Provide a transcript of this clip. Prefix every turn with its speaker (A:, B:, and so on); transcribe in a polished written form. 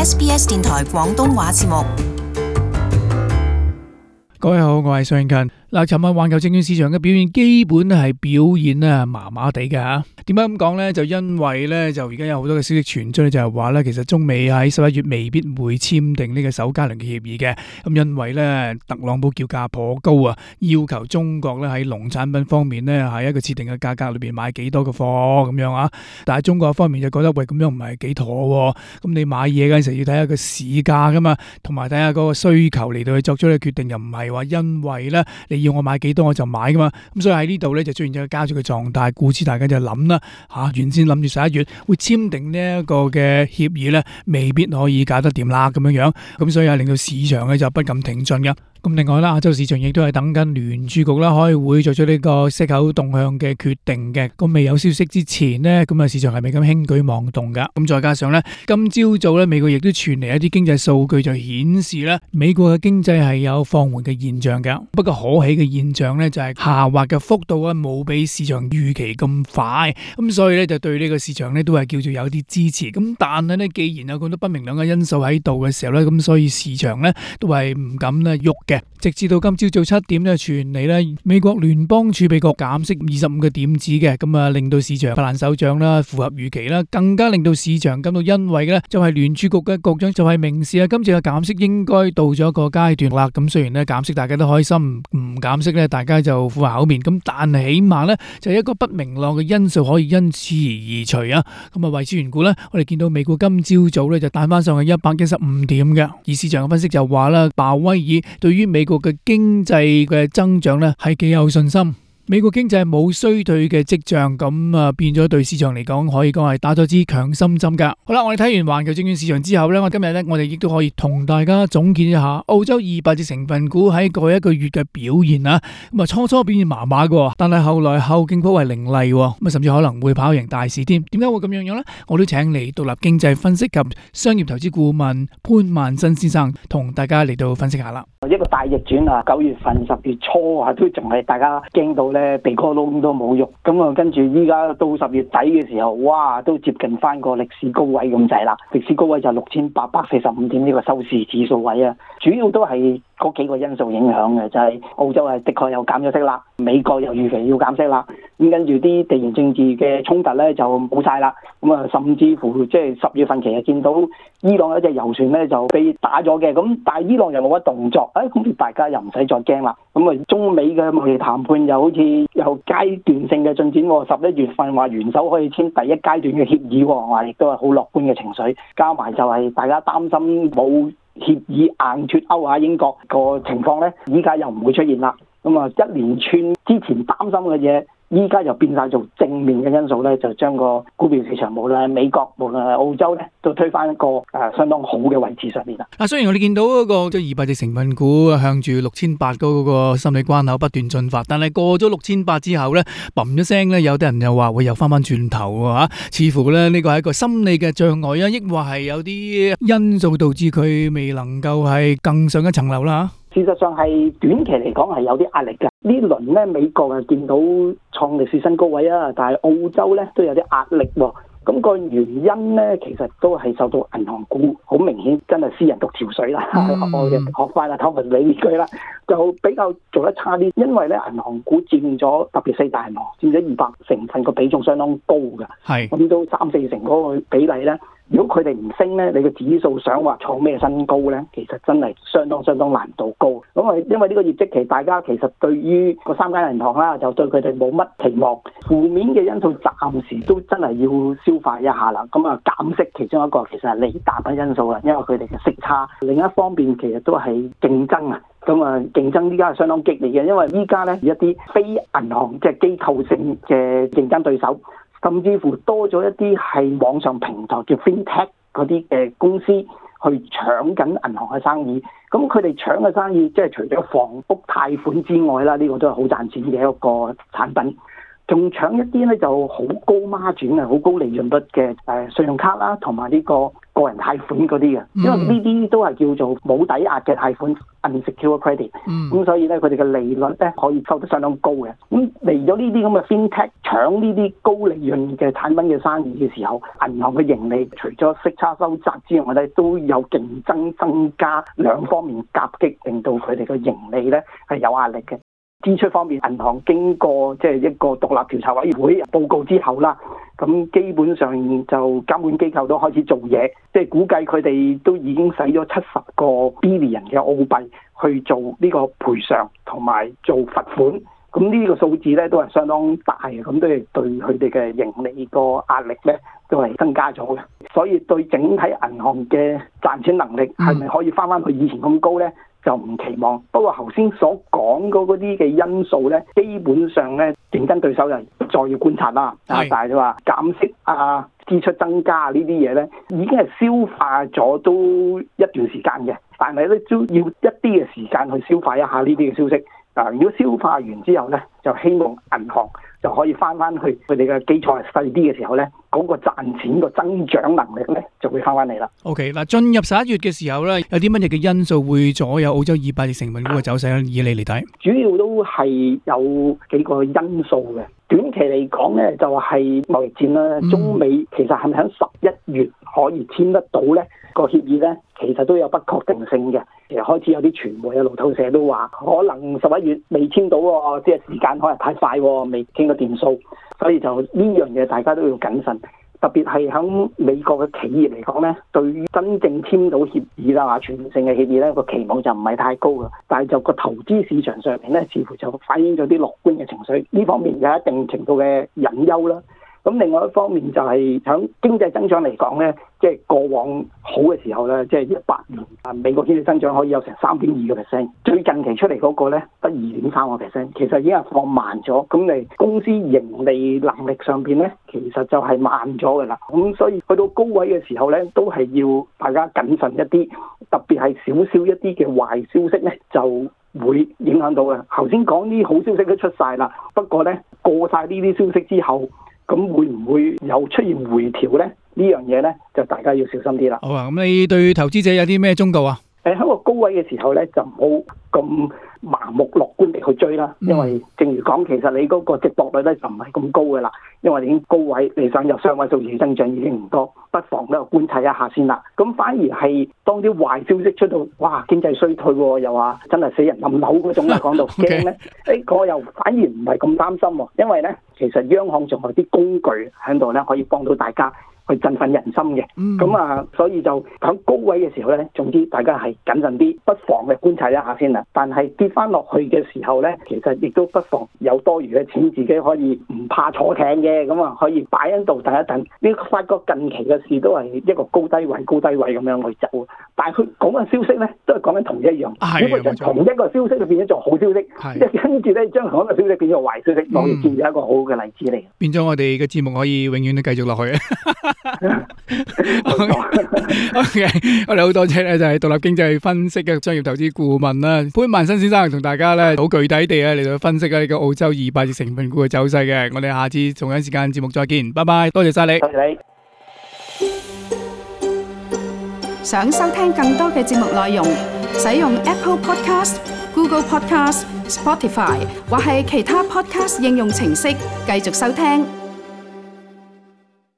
A: SBS 電台廣東話節目。
B: 各位好，我係尚勤。嗱，尋日環球證券市場嘅表現基本係表現咧麻麻地嘅嚇。點解咁講呢？就因為咧就而家有好多嘅消息傳出咧，就係話咧其實中美喺11月未必會簽訂呢個首階輪嘅協議嘅。咁因為咧特朗普叫價頗高啊，要求中國咧喺農產品方面咧喺一個設定嘅價格裏邊買幾多嘅貨咁樣啊。但係中國方面就覺得喂，咁樣唔係幾妥喎。咁你買嘢嗰陣時要睇下個市價噶嘛，同埋睇下嗰個需求嚟到去作出嘅決定，又唔係話因為咧你要我買幾多我就買噶嘛。咁所以喺呢度咧就出現咗個膠著嘅狀態，故此大家就諗啦原先諗住11月會簽訂呢一個嘅協議咧，未必可以搞得掂啦咁樣樣。咁所以令到市場咧就不敢挺進嘅。咁另外啦，亞洲市場亦都係等緊聯儲局啦開會作出呢個息口動向嘅決定嘅。咁未有消息之前呢，咁啊市場係咪咁輕舉妄動噶？咁再加上咧，今朝早咧美國亦都傳嚟一啲經濟數據，就顯示咧美國嘅經濟係有放緩嘅現象嘅。不過可喜嘅現象咧就係下滑嘅幅度啊冇比市場預期咁快。咁所以咧就對呢個市場咧都係叫做有啲支持。咁但係咧既然有咁多不明朗嘅因素喺度嘅時候咧，咁所以市場咧都係唔敢咧喐嘅。直至到今朝早7點咧傳嚟咧，美國聯邦儲備局減息25個點子嘅，咁啊令到市場拍爛手掌啦，符合預期啦，更加令到市場感到欣慰嘅咧，就係聯儲局嘅局長就係明示啊，今次嘅減息應該到咗一個階段啦。咁雖然咧減息大家都開心，唔減息咧大家就苦口面，咁但係起碼咧就係一個不明朗嘅因素可以因此而移除啊。咁啊為此緣故咧，我哋見到美股今朝早咧就彈翻上去115點嘅，而市場嘅分析就話啦，鮑威爾對於美國嘅經濟嘅增長咧係幾有信心。美國經濟冇衰退嘅跡象，咁啊變咗對市場嚟講可以講係打咗支強心針噶。好啦，我哋睇完環球證券市場之後咧，今日咧我哋亦都可以同大家總結一下澳洲200隻成分股喺過去一個月嘅表現啊。咁啊初初表現麻麻嘅，但係後來後勁頗為凌厲，咁啊甚至可能會跑贏大市添。點解會咁樣樣咧？我都請嚟獨立經濟分析及商業投資顧問潘萬新先生同大家嚟到分析下啦。
C: 一個大逆轉啊！9月份、10月初啊，都仲係大家驚到咧鼻哥窿都冇肉，咁啊跟住依家到10月底嘅時候，哇，都接近翻個歷史高位咁滯啦！歷史高位就6845點呢個收市指數位啊，主要都係嗰幾個因素影響嘅，就係澳洲係的確又減咗息啦，美國又預期要減息啦，咁跟住啲地緣政治嘅衝突咧就冇晒啦，咁啊甚至乎即係10月份其實見到伊朗有一隻油船咧就被打咗嘅，咁但係伊朗又冇乜動作，咁大家又唔使再驚啦。咁啊中美嘅貿易談判又好似有階段性嘅進展喎，11月份話元首可以簽第一階段嘅協議喎，話亦都係好樂觀嘅情緒，加埋就係大家擔心冇協議硬脫歐啊，英國個情況咧，依家又唔會出現啦。咁啊，一連串之前擔心嘅嘢，依家又變晒做正面嘅因素咧，就將個股票市場無論係美國，無論係澳洲咧，都推翻一個相當好嘅位置上面啦。
B: 雖然我哋見到嗰個即係200隻成分股向住6800嗰個心理關口不斷進發，但係過咗6800之後咧，嘣一聲咧，有啲人又話會又翻翻轉頭喎，似乎咧呢個係一個心理嘅障礙啊，抑或係有啲因素導致佢未能夠係更上一層樓啦。
C: 事實上係短期嚟講係有啲壓力嘅。呢輪咧美國係見到創歷史新高位啊，但係澳洲咧都有啲壓力喎。咁個原因咧，其實都係受到銀行股好明顯真係私人獨潮水啦。我嘅學翻啦，湯文理呢句啦，就比較做得差啲。因為咧銀行股佔咗特別4大銀行佔咗200成分個比重相當高㗎，咁都3-4成嗰個比例咧。如果佢哋唔升咧，你個指數想話創咩新高咧，其實真係相當難度高。咁啊，因為呢個業績期，大家其實對於個3間銀行啦，就對佢哋冇乜期望。負面嘅因素暫時都真係要消化一下啦。咁啊，減息其中一個其實係利淡嘅因素啦，因為佢哋嘅息差。另一方面其實都係競爭啊。咁啊，競爭依家係相當激烈嘅，因為依家咧一啲非銀行即係機構性嘅競爭對手。甚至乎多咗一啲係網上平台叫 FinTech 嗰啲嘅公司去搶緊銀行嘅生意。咁佢哋搶嘅生意即係除咗房屋貸款之外啦，呢個都係好賺錢嘅一個產品。仲搶一啲咧就好高孖展啊、好高利潤率嘅信用卡啦，同埋呢個個人貸款嗰啲嘅，因為呢啲都係叫做冇抵押嘅貸款 unsecured credit，咁所以咧佢哋嘅利率咧可以收得相當高嘅。咁嚟咗呢啲咁嘅 FinTech 搶呢啲高利潤嘅產品嘅生意嘅時候，銀行嘅盈利除咗息差收窄之外咧，都有競爭增加，兩方面夾擊，令到佢哋嘅盈利咧係有壓力嘅。支出方面，銀行經過即係一個獨立調查委員會報告之後啦，咁基本上就監管機構都開始做嘢，即係估計佢哋都已經使咗70個 billion 嘅澳幣去做呢個賠償同埋做罰款，咁呢個數字咧都係相當大嘅，咁都係對佢哋嘅盈利個壓力咧都係增加咗嘅，所以對整體銀行嘅賺錢能力係咪可以翻去以前咁高咧？就唔期望，不過頭先所講嗰啲嘅因素咧，基本上咧競爭對手就再要觀察啦。但係你話減息啊、支出增加呢啲嘢咧，已經係消化咗都一段時間嘅，但係咧都要一啲嘅時間去消化一下呢啲嘅消息。如果消化完之後咧，就希望銀行就可以翻去佢哋嘅基礎係細啲嘅時候咧，嗰個賺錢個增長能力咧就會翻嚟啦。
B: OK， 嗱，進入11月嘅時候咧，有啲乜嘢嘅因素會左右澳洲200隻成分股嘅走勢咧？以你嚟睇，主
C: 要都係有幾個因素嘅。短期嚟講咧，就係貿易戰啦。中美其實係咪喺11月可以簽得到咧？個協議咧，其實都有不確定性嘅。其實開始有啲傳媒啊、路透社都話，可能11月未簽到喎，即係時間可能太快喎，未傾到掂數，所以就呢樣嘢大家都要謹慎。特別係喺美國嘅企業嚟講咧，對於真正簽到協議啦、全面性嘅協議咧，個期望就唔係太高嘅。但係就個投資市場上面咧，似乎就反映咗啲樂觀嘅情緒，呢方面有一定程度嘅隱憂啦。咁另外一方面就係喺經濟增長嚟講咧，即係過往好嘅時候咧，即係18年美國經濟增長可以有成3.2%，最近期出嚟嗰個咧得2.3%，其實已經係放慢咗。咁你公司盈利能力上邊咧，其實就係慢咗㗎啦。咁所以去到高位嘅時候咧，都係要大家謹慎一啲，特別係少少一啲嘅壞消息咧，就會影響到嘅。頭先講啲好消息都出晒啦，不過咧過晒呢啲消息之後，咁會唔會又出現回調咧？呢樣嘢咧就大家要小心啲啦。
B: 好啊，咁你對投資者有啲咩忠告啊？
C: 喺個高位嘅時候咧，就唔好咁盲目樂觀地去追啦。因為正如講，其實你嗰個值博率咧就唔係咁高嘅啦。因為已經高位，你想有雙位數字增長已經唔多，不妨咧觀察一下先啦。咁反而係當啲壞消息出到，哇經濟衰退喎，又話真係死人冧樓嗰種啦，講到驚咧，我又反而唔係咁擔心喎。因為咧，其實央行仲有啲工具喺度咧，可以幫到大家去振奮人心嘅。咁所以就喺高位嘅時候咧，總之大家係謹慎啲，不妨嘅觀察一下先啦。但係跌翻落去嘅時候咧，其實亦都不妨有多餘嘅錢，自己可以唔怕坐艇嘅，咁可以擺喺度等一等。你發覺近期嘅事都係一個高低位咁樣去走，但係佢講嘅消息咧，都係講緊同一樣，只不過就同一個消息就變咗做好消息，即係跟住咧將同一個消息變咗壞消息，貿易戰就係一個好嘅例子嚟。
B: 變咗我哋嘅節目可以永遠都繼續落去。OK， 我哋好多謝咧，就係獨立經濟分析嘅商業投資顧問啦，潘萬新先生同大家咧好具體地嚟到分析呢個澳洲200隻成分股嘅走勢嘅。我哋下次同樣時間節目再見，拜拜，多謝晒你。
C: 多謝你。
D: 想收聽更多嘅節目內容，使用 Apple Podcast、Google Podcast、Spotify 或係其他 Podcast 應用程式繼續收聽。